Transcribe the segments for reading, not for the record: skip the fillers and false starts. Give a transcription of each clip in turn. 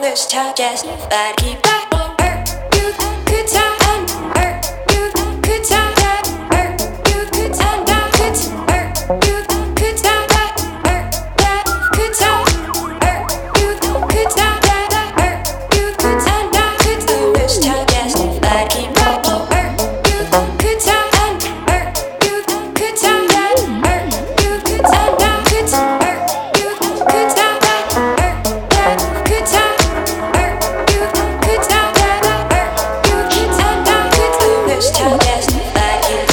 this time, just but keep back on her. You good time, her. You good time, her. You good time, good her. You good time, her. Good time, her. You good time, her. You good time, good this time, just but keep back on her. You good time, her. You good time, her. You good time, good her. You good time, her. Good time, her. You good time, her. You good time, good this time, just but keep.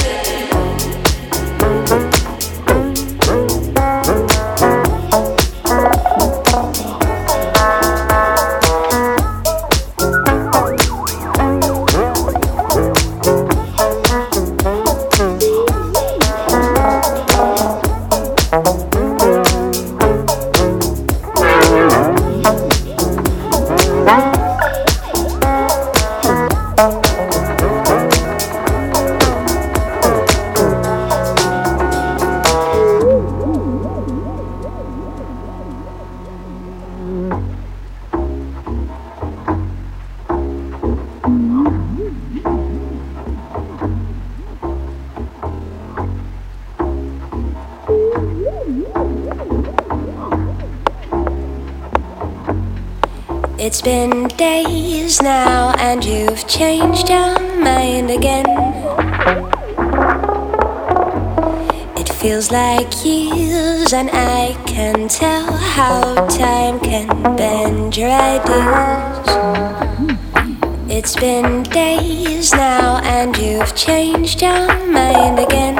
It's been days now and you've changed your mind again. It feels like years and I can tell how time can bend your ideas. It's been days now and you've changed your mind again.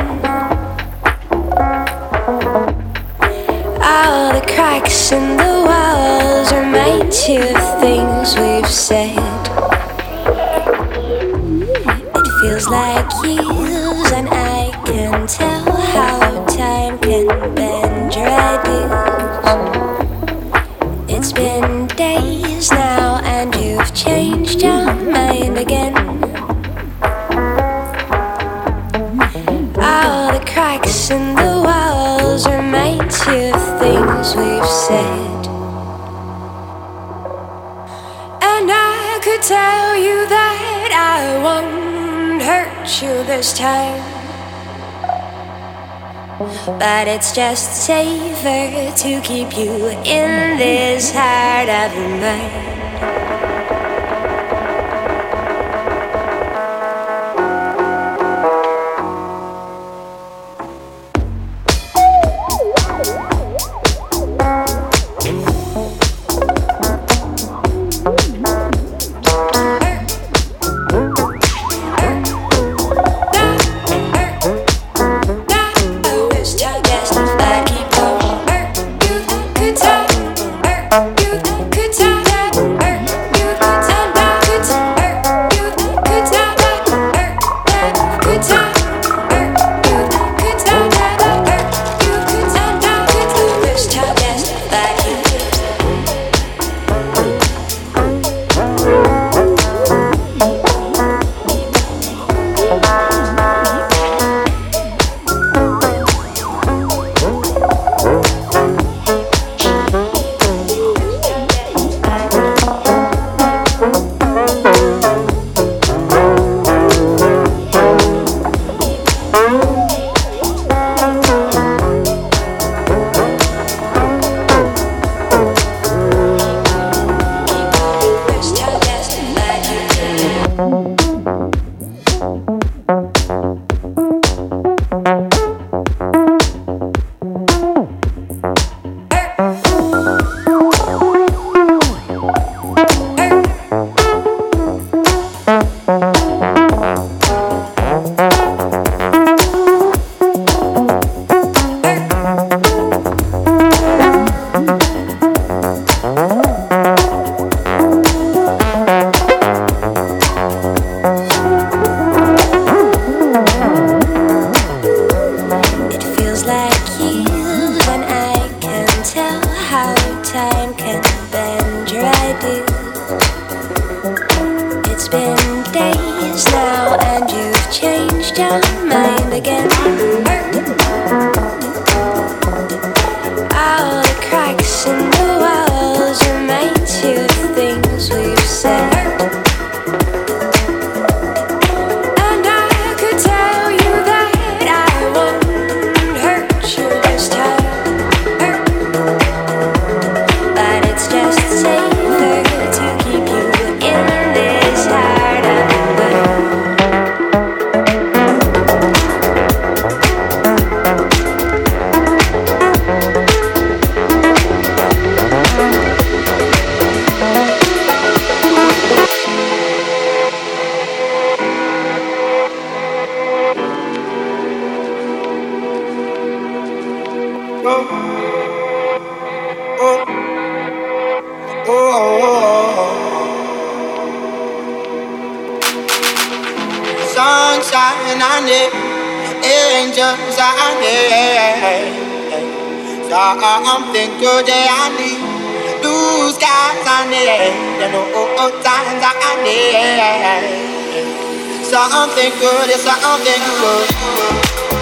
All the cracks in the walls remind you of things we've said. It feels like years and I can tell how time can bend your ideas. It's been days now and you've changed your mind again. All the cracks in the walls remind you of things we've said. And I could tell you that I won't hurt you this time, but it's just safer to keep you in this heart of mine. All the cracks in the walls remind you of things oh. Sunshine I need, angels I need, something good I need, blue skies I need, and old times I need, something good is something good.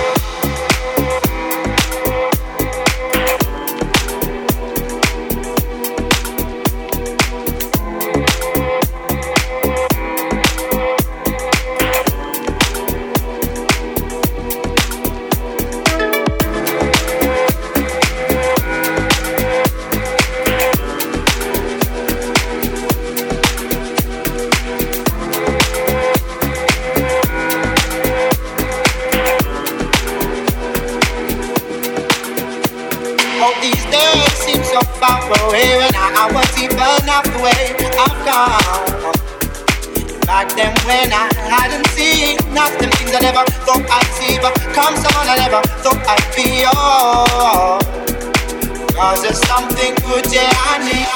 Away when I was even enough the way I've gone. Back then when I hadn't seen nothing, things I never thought I'd see, but come someone I never thought I'd be. Oh, 'cause there's something good, yeah, I need.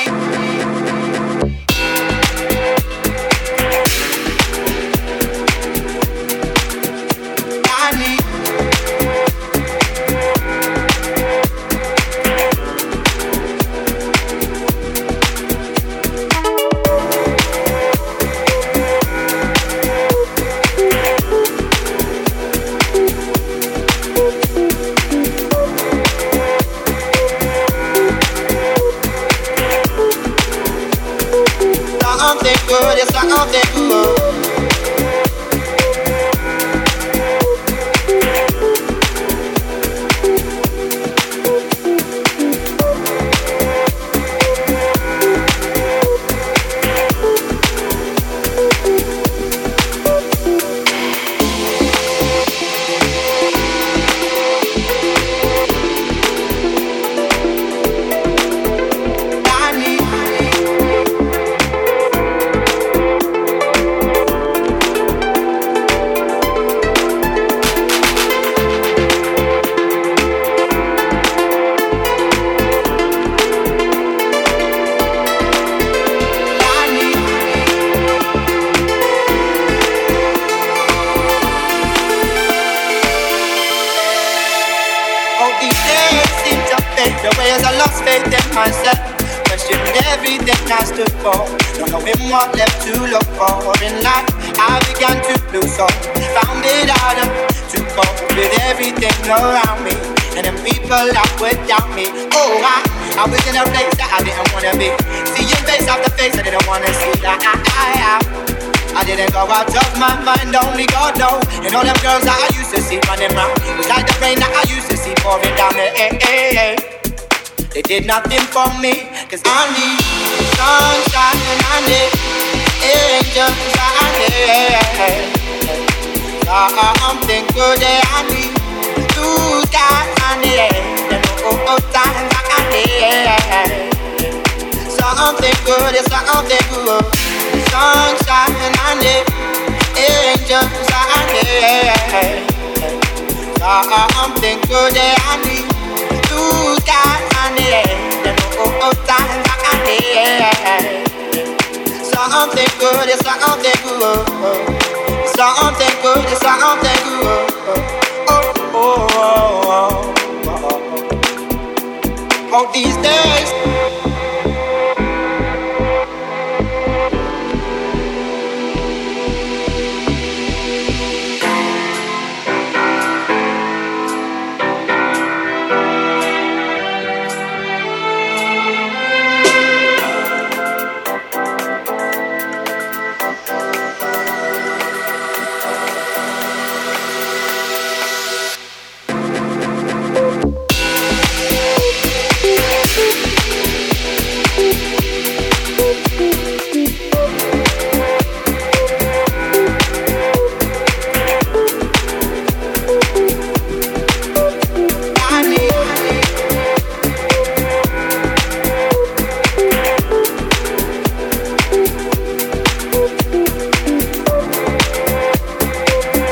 Something good, it's something good. Myself, questioned everything I stood for, not knowing what left to look for in life. I began to lose hope, found it harder to cope with everything around me, and then people that would doubt me. Oh, I was in a place that I didn't wanna be, seeing face after face I didn't wanna see. I didn't go out of my mind, only God knows. And all them girls that I used to see running round, it was like the rain that I used to see pouring down the They did nothing for me, 'cause I need sunshine and I need angels, I need something good that I need, blue skies I need, and old times I need, something good is something good, sunshine and I need angels, I need something good that I need, blue skies I need, and old times I need, something good is something good, something good is something good. Oh, oh, oh, oh, oh. Oh, these days.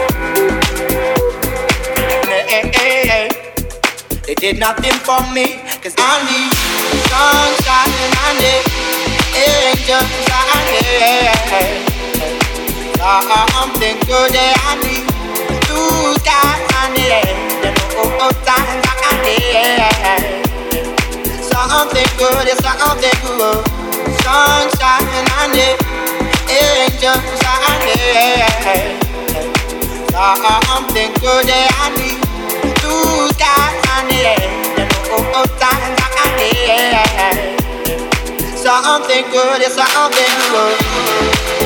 Did nothing for me, 'cause I need sunshine and I need angels. I need something good that I need. Blue skies I need, oh, times I need something good, it's something good. Sunshine I need, angels I need something good that I need. Blue skies I need, oh, times I need something good, it's something good.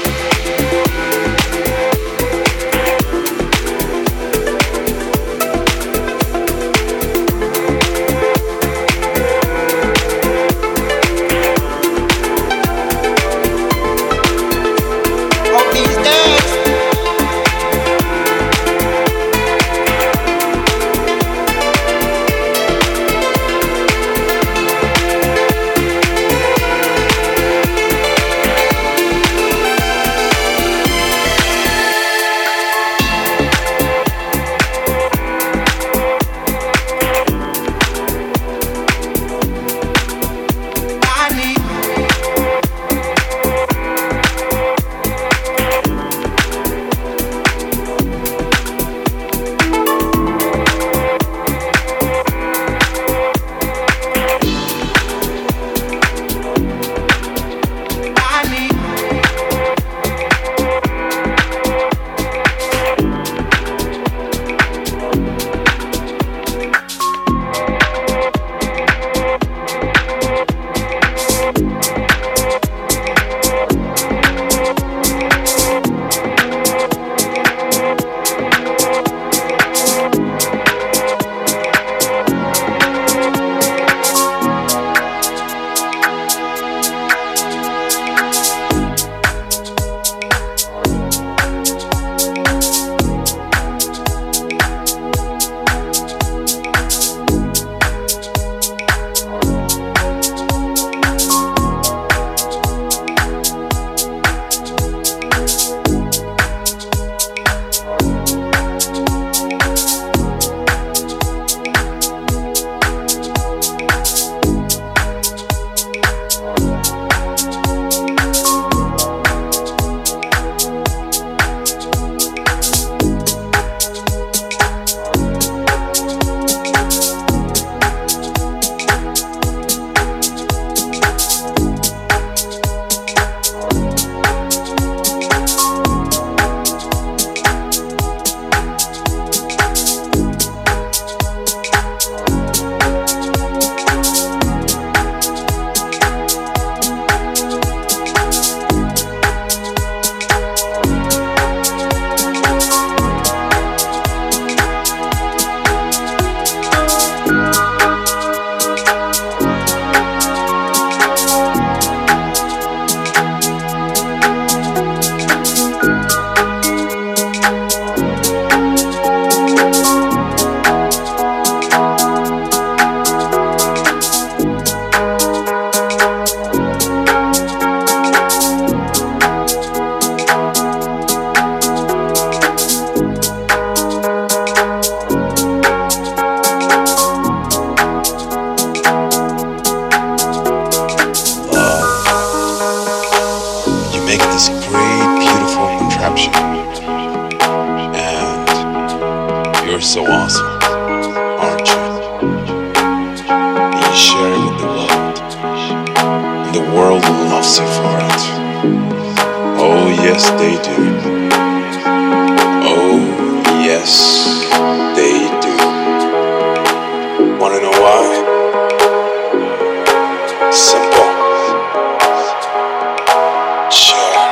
so awesome, aren't you? You share it with the world, and the world loves you for it. Oh yes, they do. Oh yes, they do. Wanna know why? Simple. Share.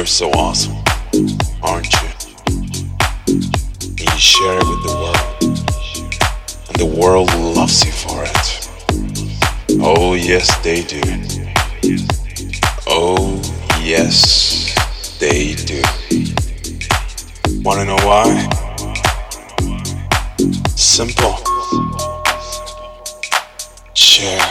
You're so awesome, aren't you? And you share it with the world, and the world loves you for it. Oh yes, they do. Oh yes, they do. Wanna know why? Simple. Share.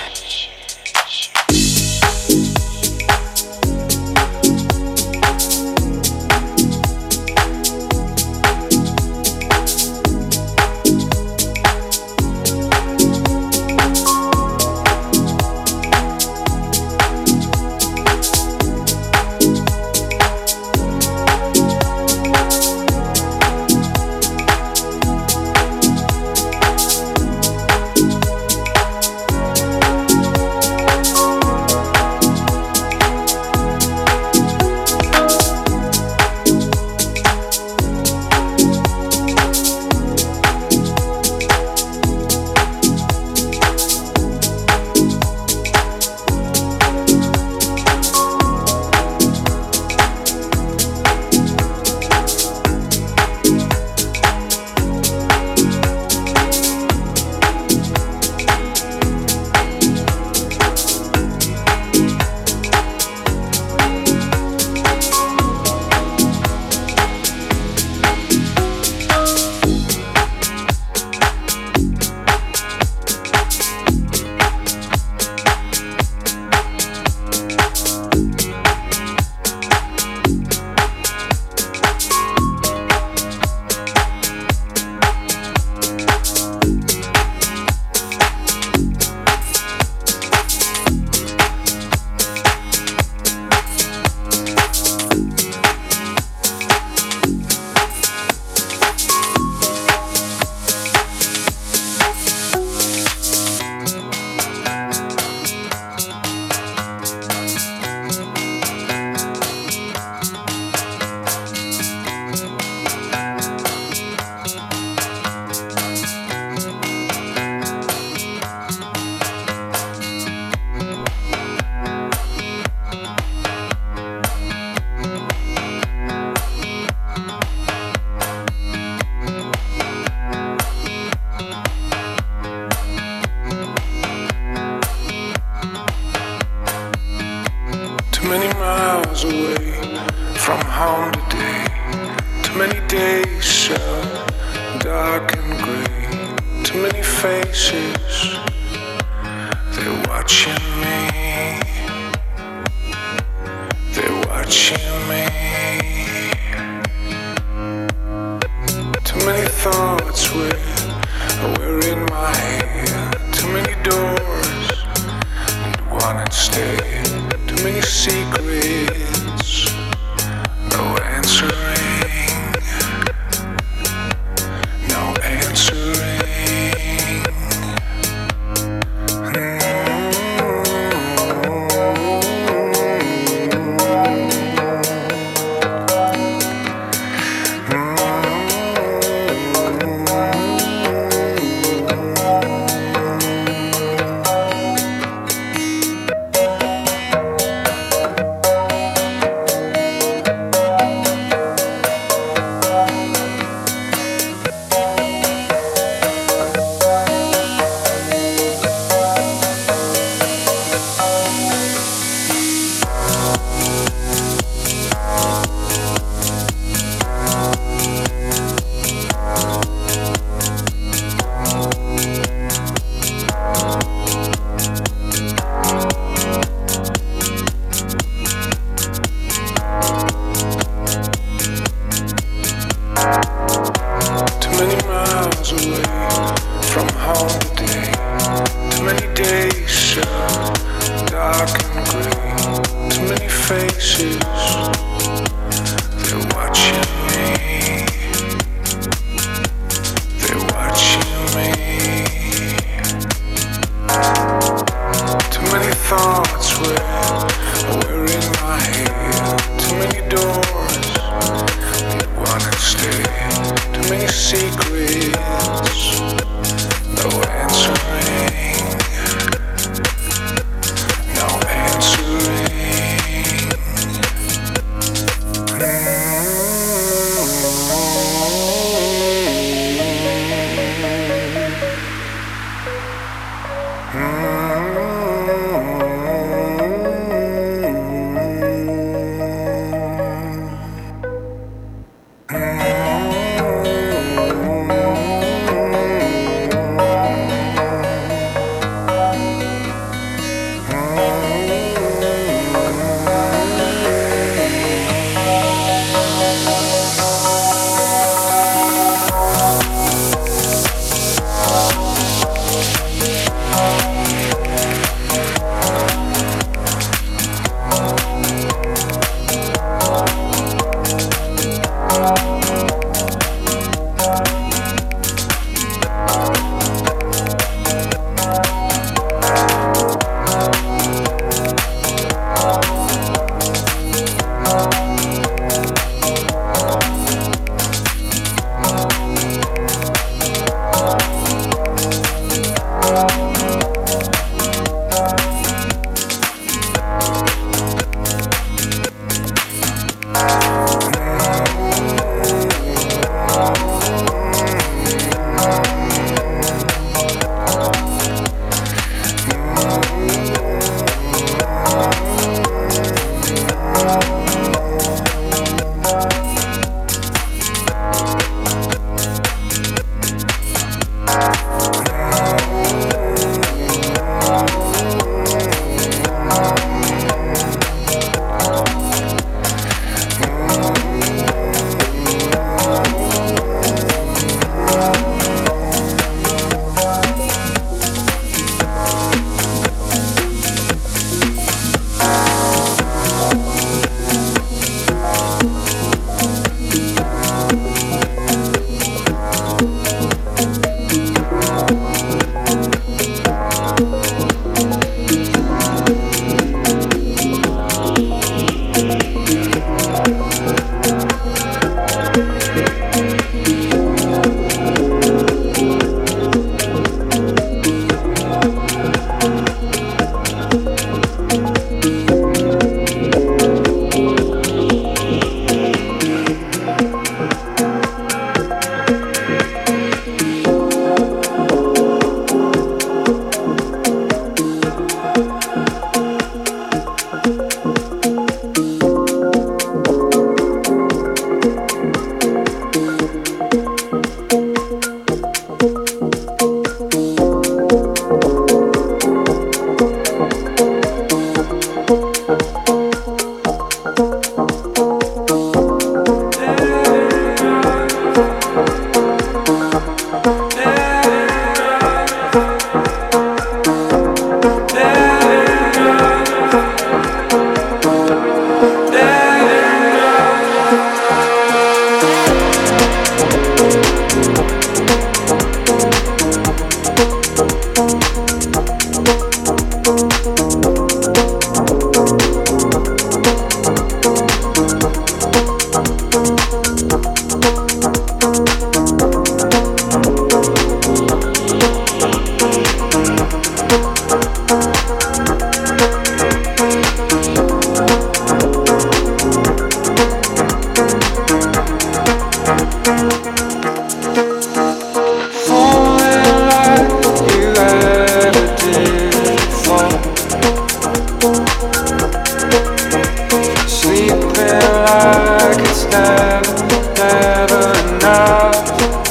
Sleeping like it's never enough.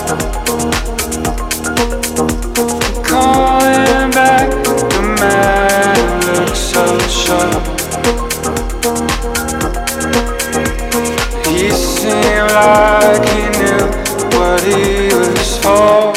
Calling back the man who looks so sharp. He seemed like he knew what he was for.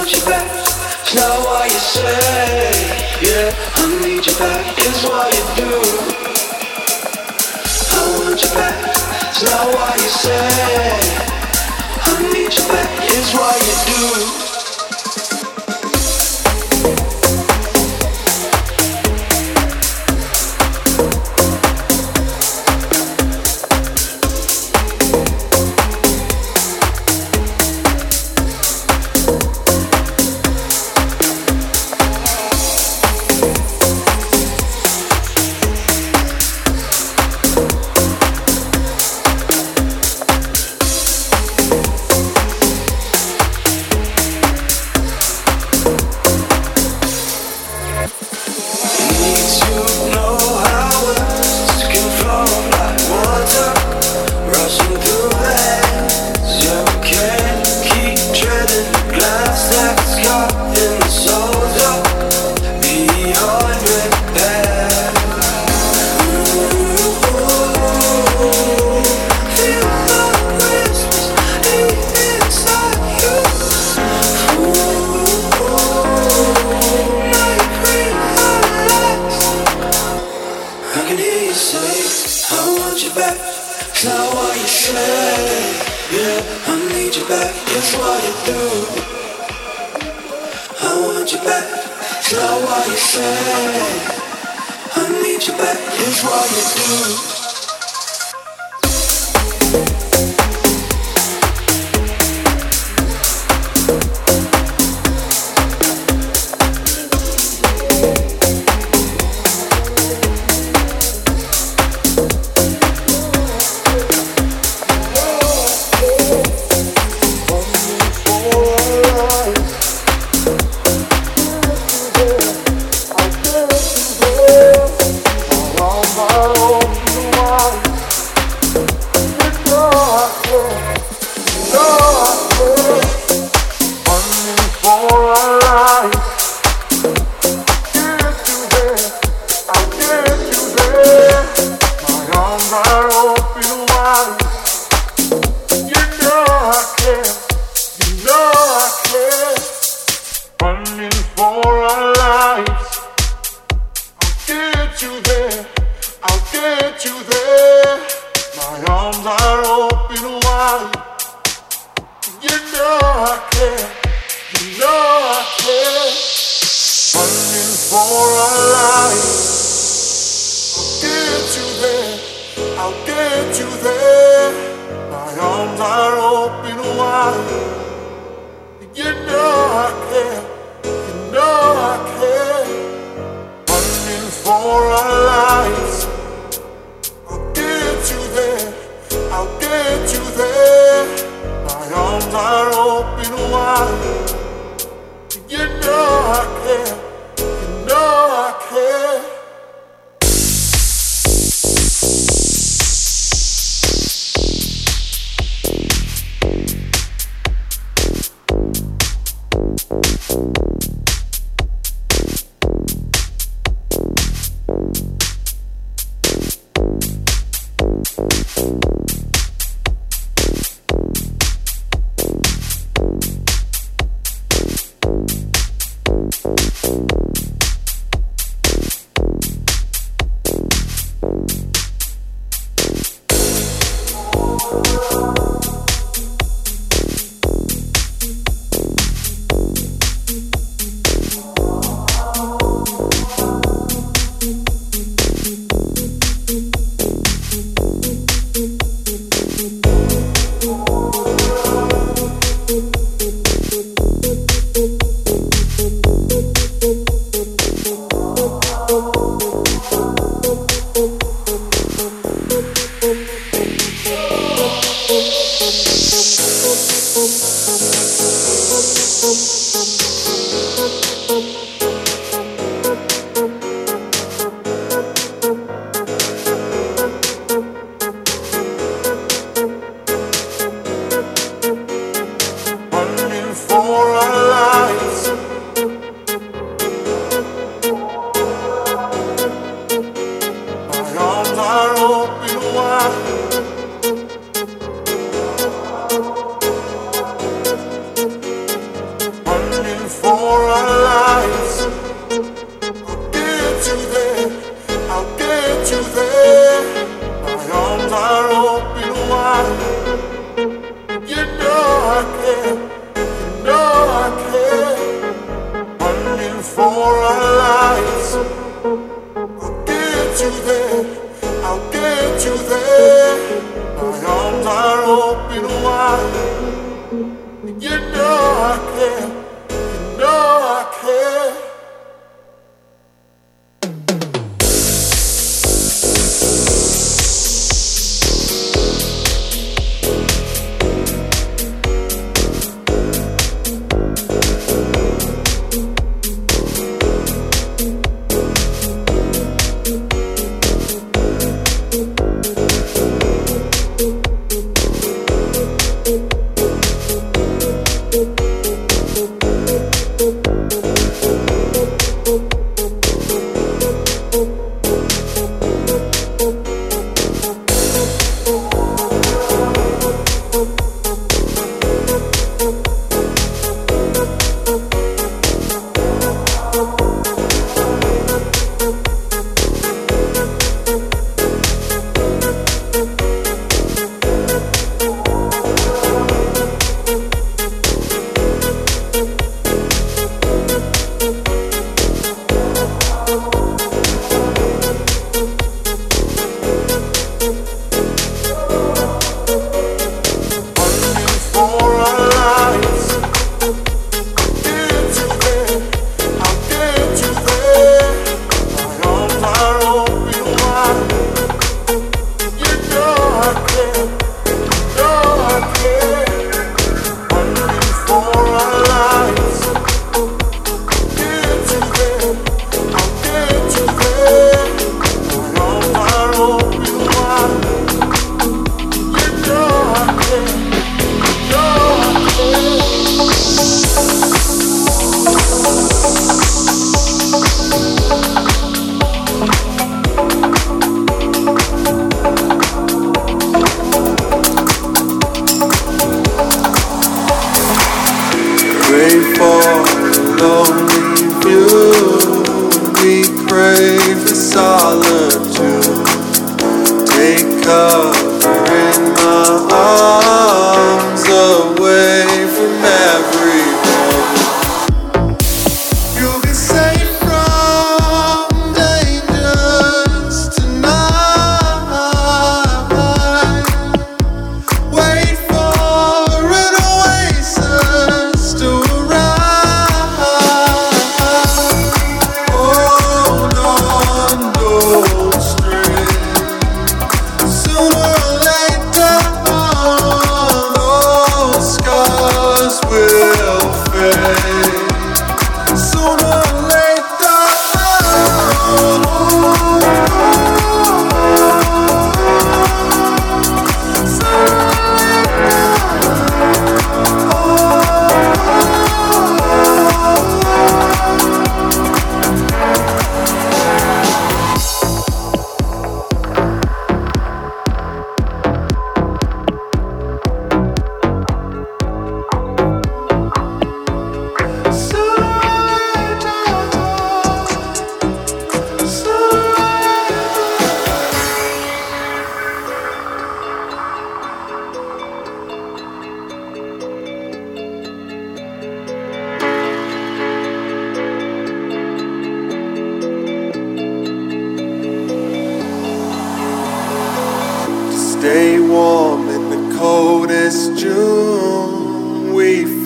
want you back. It's not what you say. Yeah, I need you back. It's what you do. I want you back. It's not what you say. I need you back. It's what you do.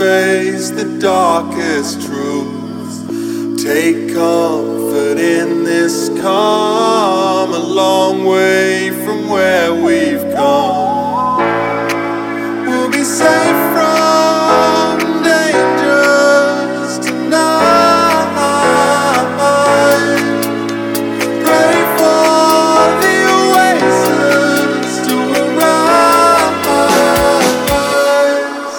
face the darkest truths. Take comfort in this calm, a long way from where we've come. We'll be safe from dangers tonight. Pray for the oasis to arise.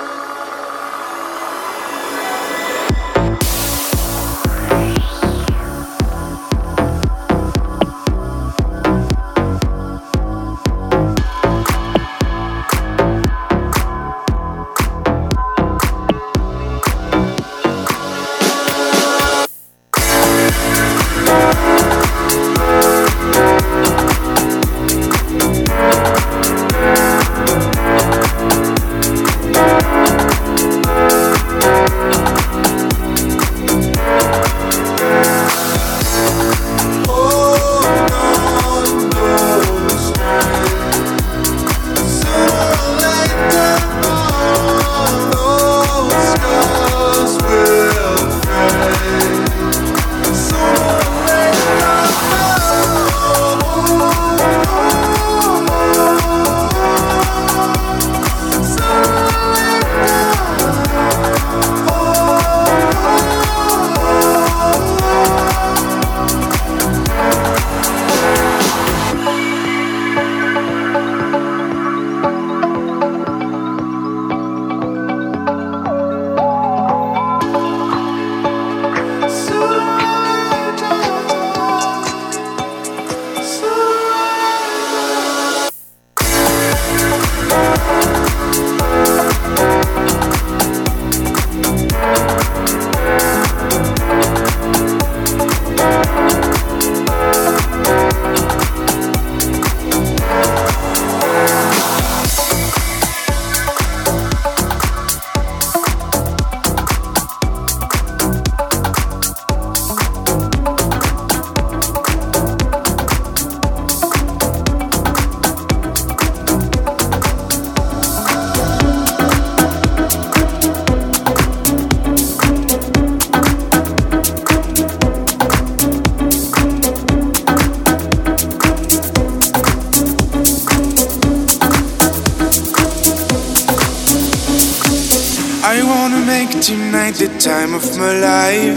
I wanna make tonight the time of my life.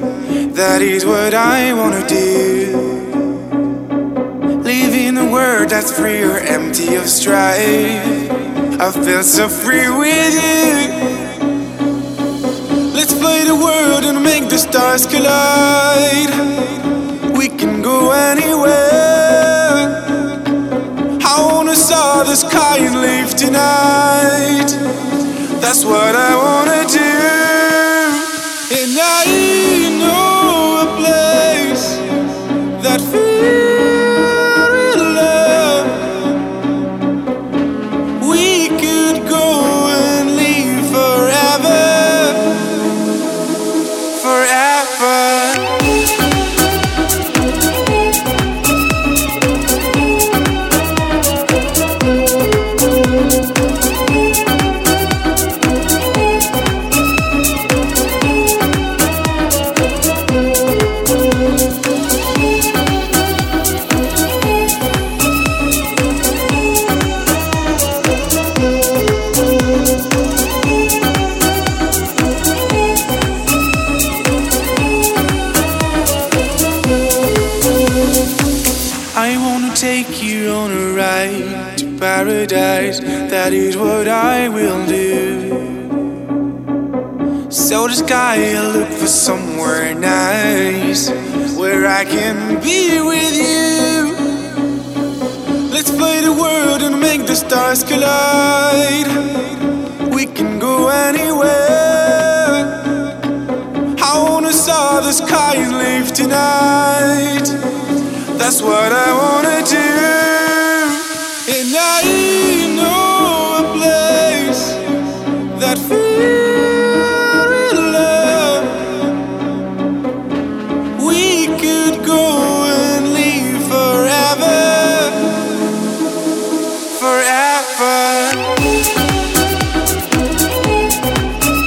That is what I wanna do. Live in a world that's free or empty of strife. I feel so free with you. Let's play the world and make the stars collide. We can go anywhere. I wanna saw the sky and live tonight. That's what I wanna do. And I know a place that feels real love. We could go and live forever, forever. I wanna take you on a ride to paradise. That is what I will do. So the sky, I look for somewhere nice where I can be with you. Let's play the world and make the stars collide. We can go anywhere. I wanna saw the sky and live tonight. That's what I wanna do. And I know a place that feels real love. We could go and live forever, forever.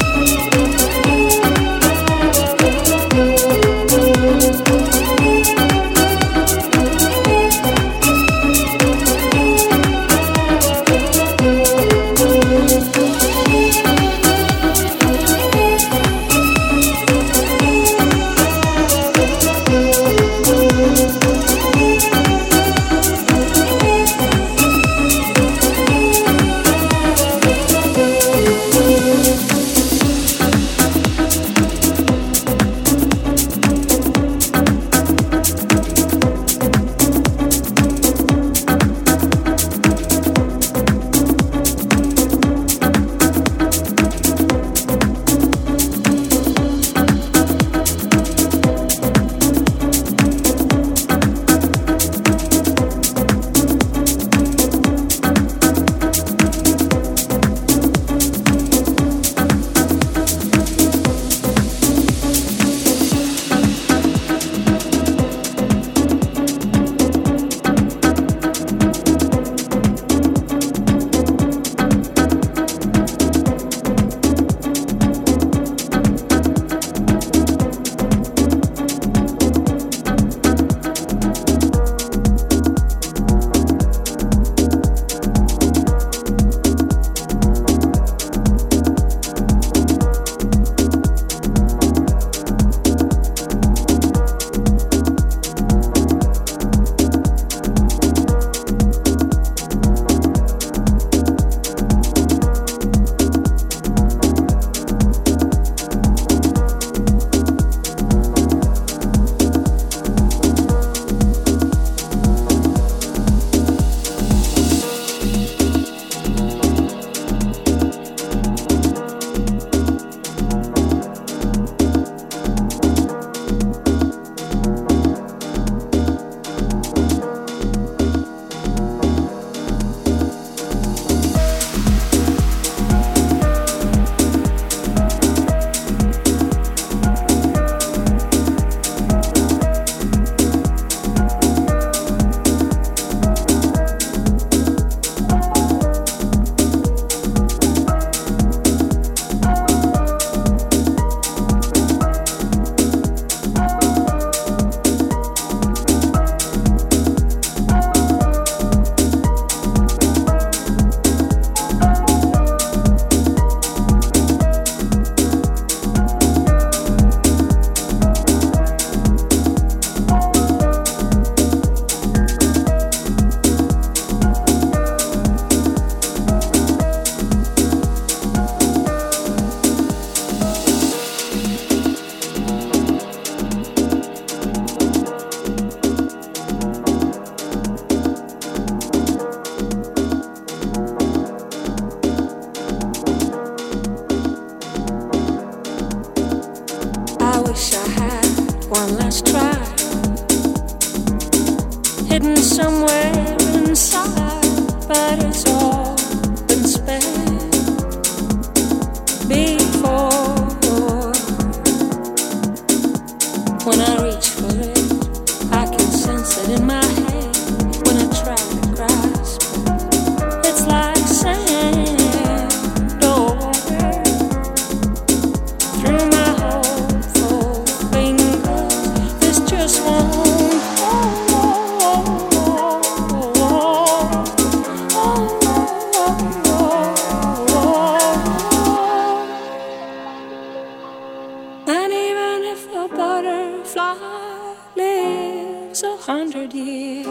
if a butterfly lives 100 years,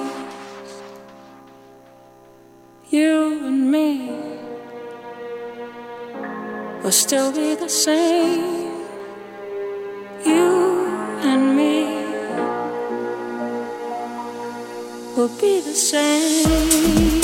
you and me will still be the same. You and me will be the same.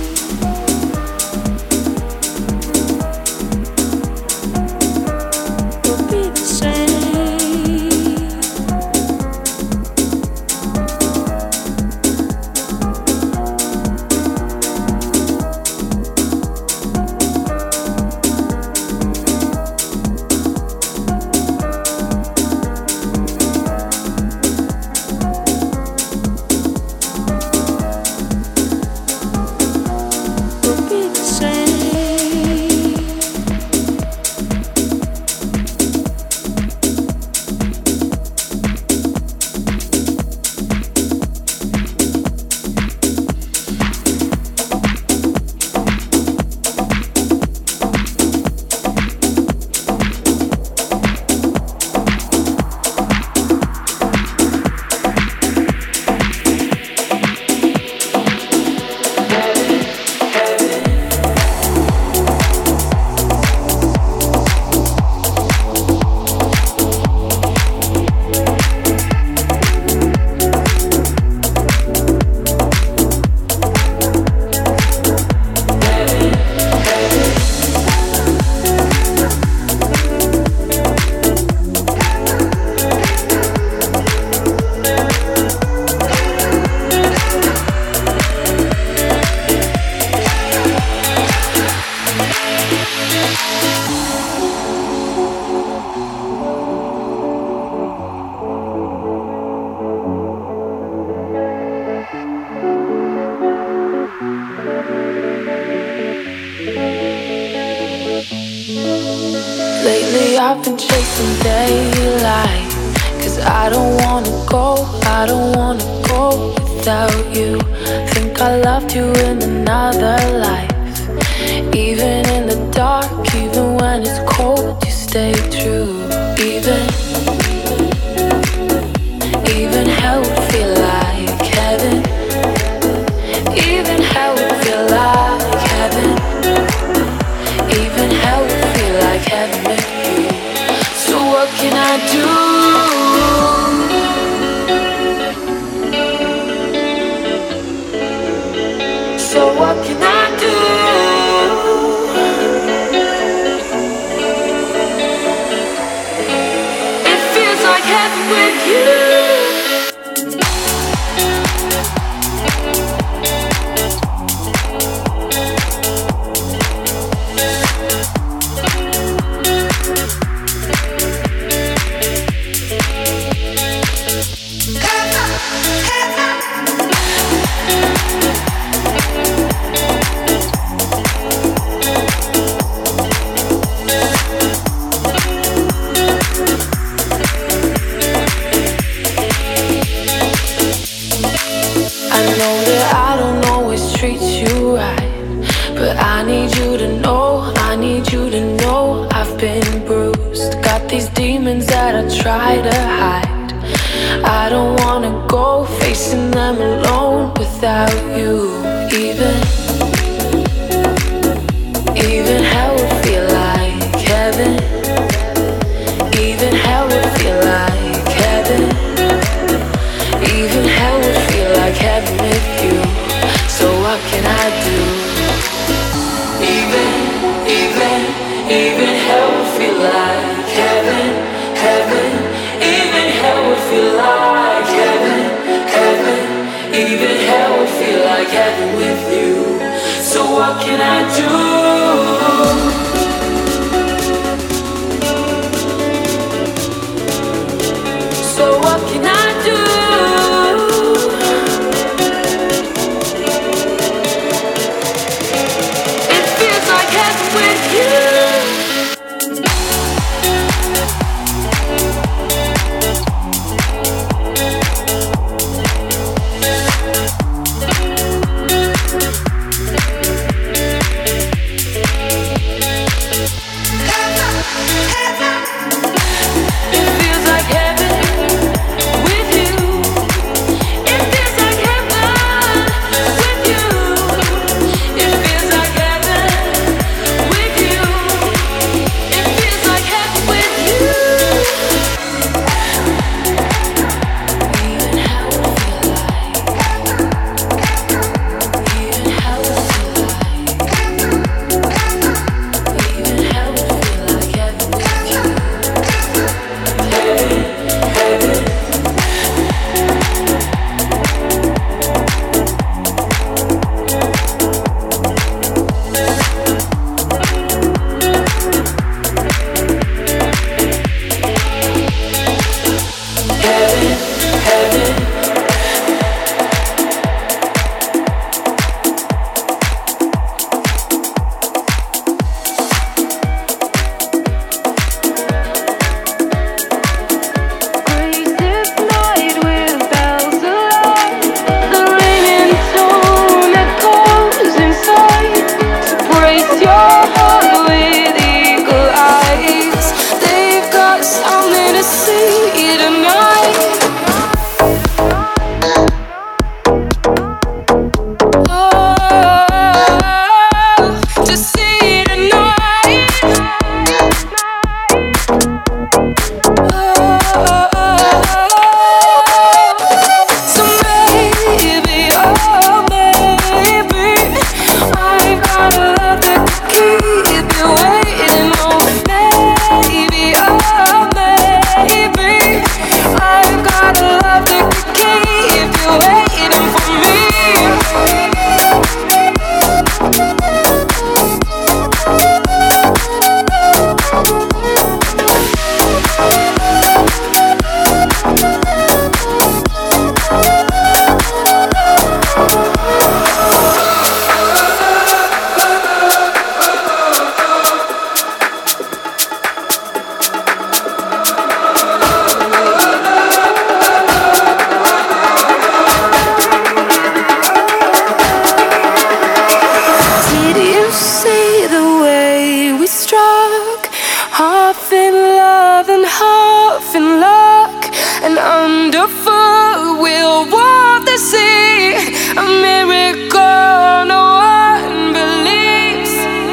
Lately I've been chasing daylight, 'cause I don't wanna go without you. Think I loved you in another life. Even in the dark, even when it's cold, you stay true. Even hell would feel like heaven. Even hell would feel like heaven. Even hell would feel like heaven with you. So what can I do? So what can I do? It feels like heaven with you. Try to hide. I don't wanna go facing them alone without you. Even hell would feel like heaven. Even hell would feel like heaven. Even hell would feel like heaven with you. So what can I do? Even hell would feel like heaven. Even hell would feel like heaven. Even hell would feel like heaven with you. So what can I do? So what can I do? It feels like heaven with you. half in love and half in luck, and underfoot we'll walk the sea. A miracle no one believes.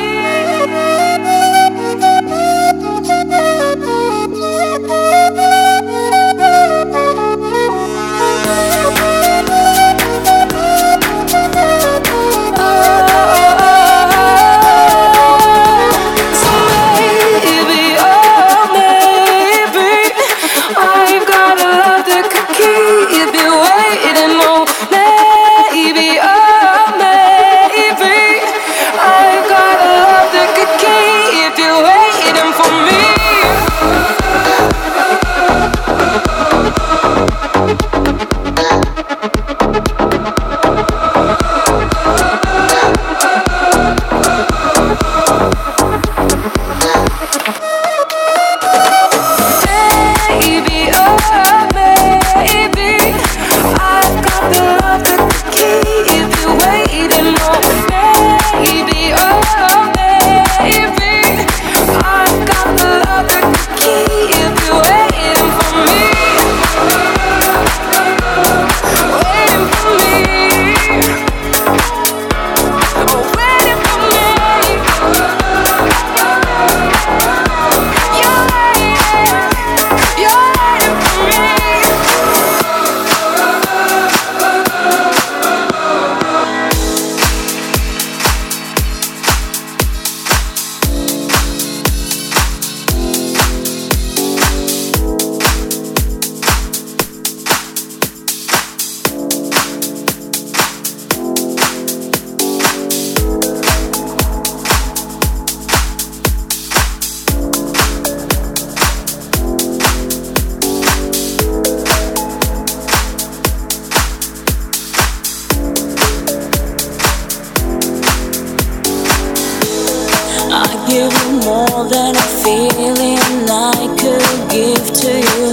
More than a feeling I could give to you,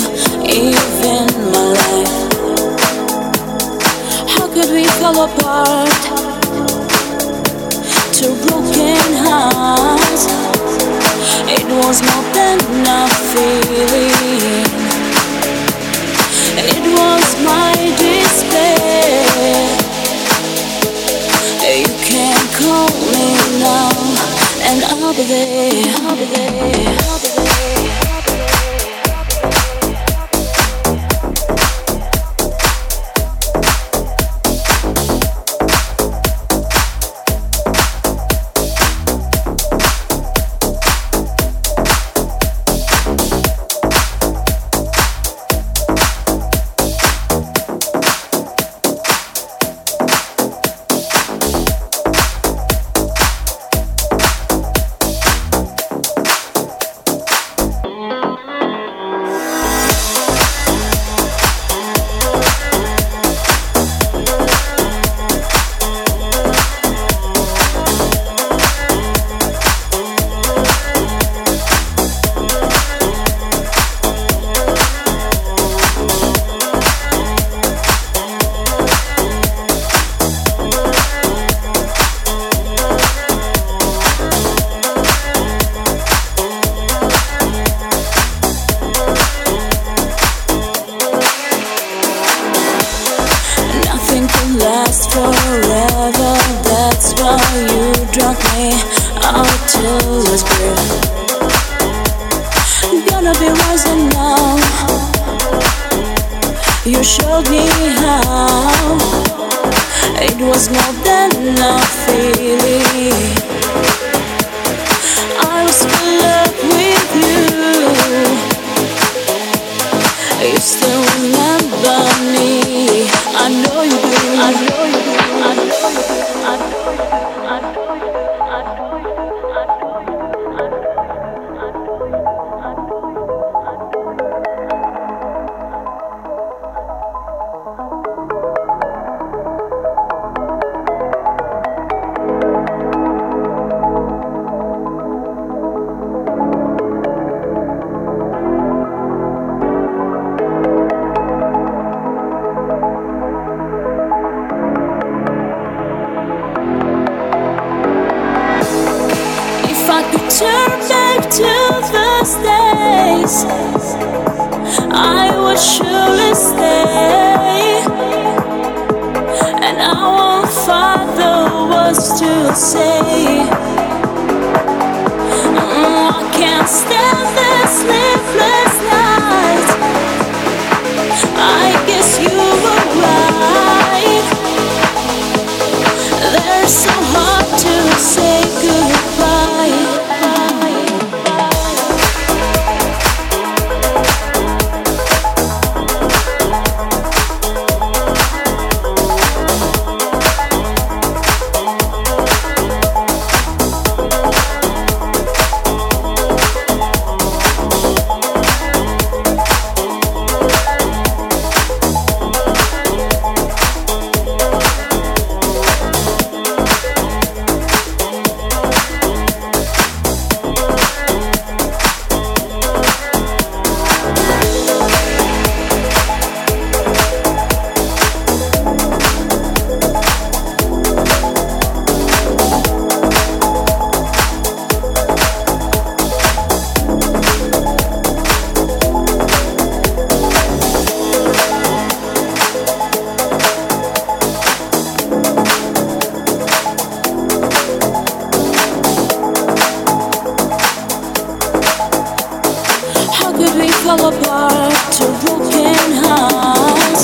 even my life. How could we fall apart? Two broken hearts. It was more than a feeling. It was my despair. You can call me now, and I'll be there, I'll be there, I'll be there. Last forever, that's why you drug me out till this breath. Gonna be rising now. You showed me how. It was more than a feeling. I was in love with you. You still remember me. I know you do. I know you do. I know you do. I know you do. I know you do. I know you do. I know you do. place, I would surely stay. And our Father was to say, I can't stand this sleepless night. I guess you were right. They're so hard to say goodbye. Fall apart to broken hearts.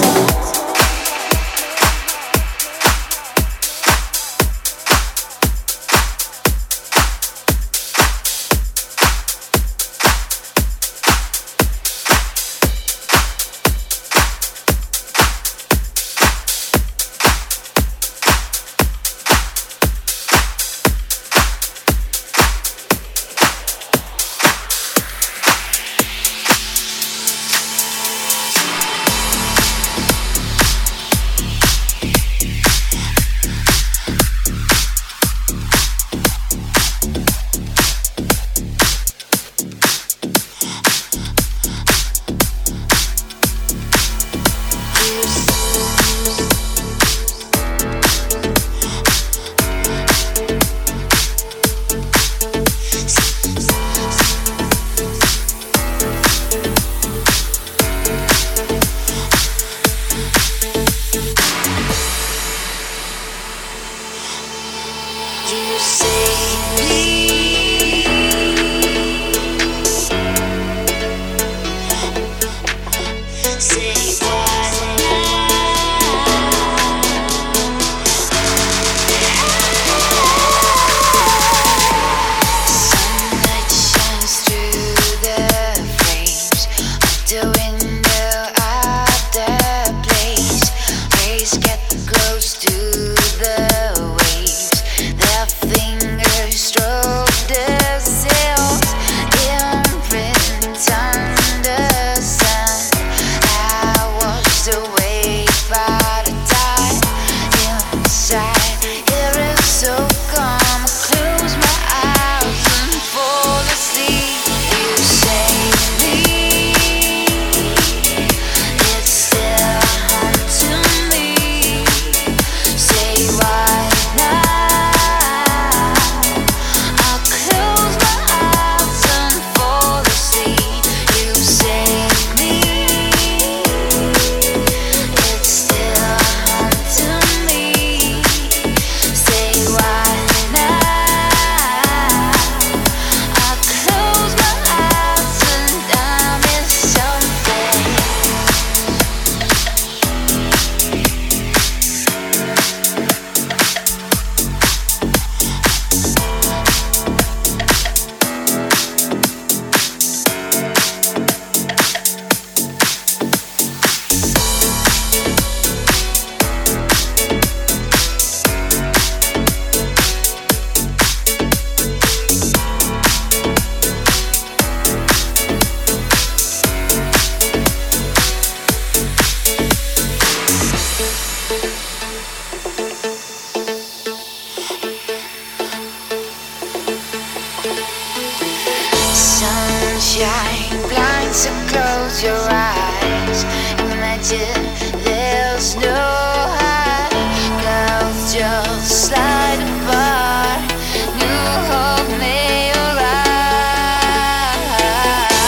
Sunshine blinds, so close your eyes. Imagine there's no high. Clouds just slide apart. New hope may arise.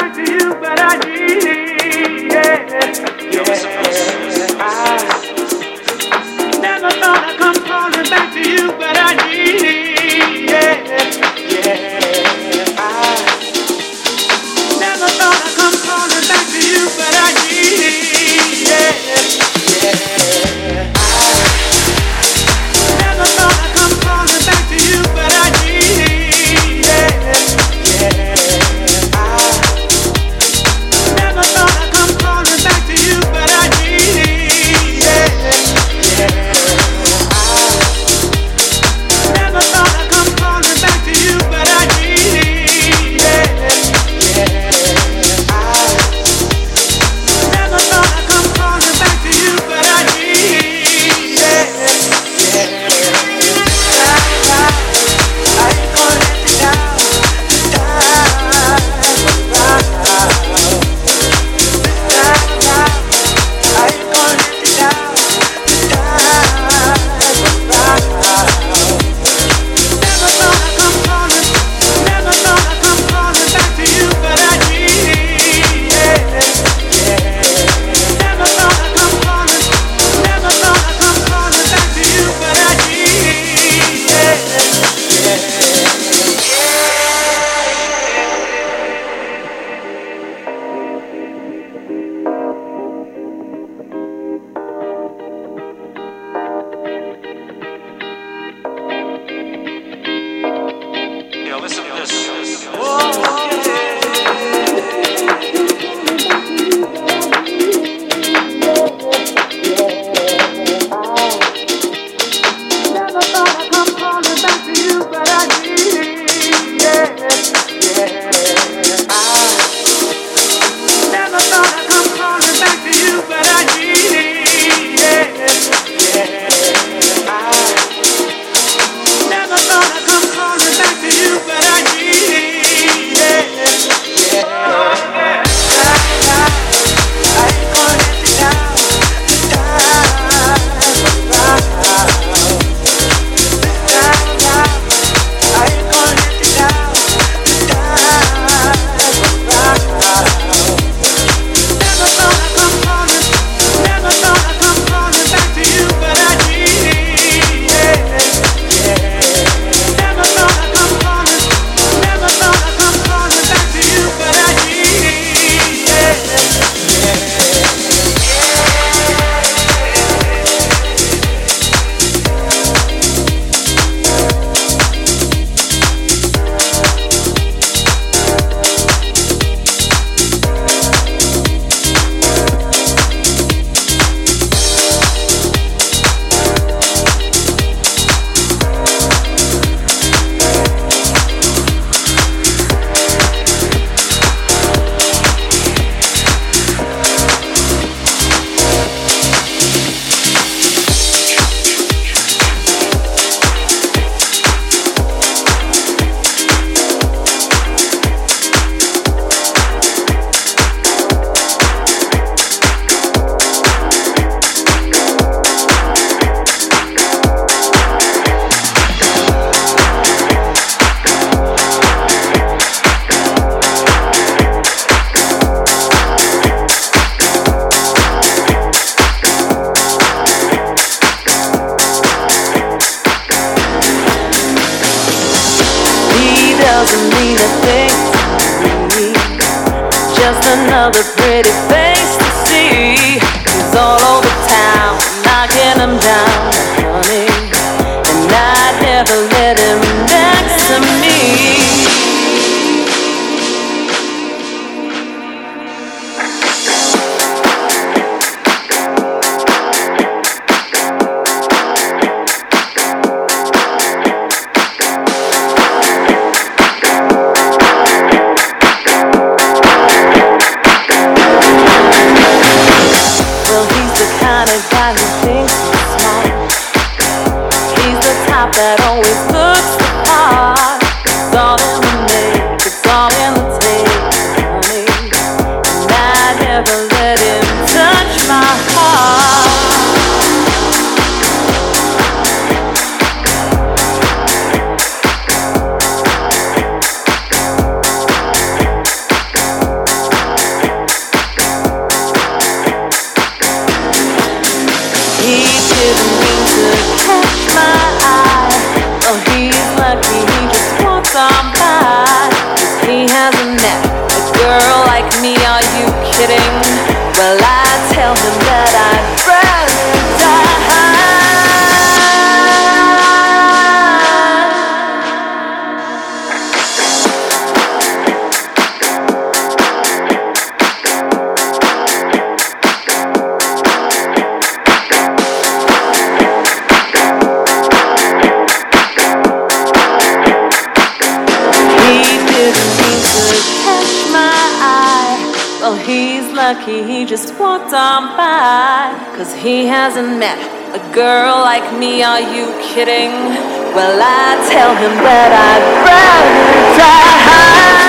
doesn't mean a thing to me. Just another pretty face to see. He's all over town, knocking him down, honey. And I'd never let him next to me. That always looks the part. It's all in the make, it's all in the take, honey. And I never let him touch my heart. are you kidding? Well, I tell him that I'd rather die. He's lucky he just walked on by, 'cause he hasn't met a girl like me, are you kidding? Well, I tell him that I'd rather die.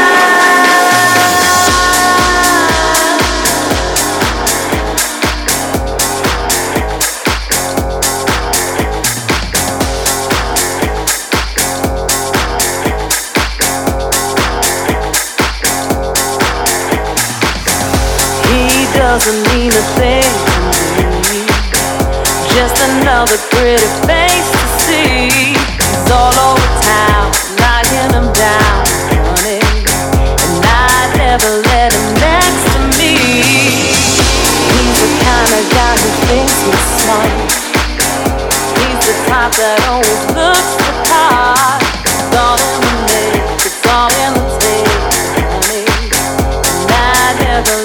Doesn't mean a thing to me, just another pretty face to see. He's all over town, knocking him down, honey, and I never let him next to me. He's the kind of guy who thinks he's smart. He's the type that always looks the part. It's all in the make, it's all in the take, honey, and I never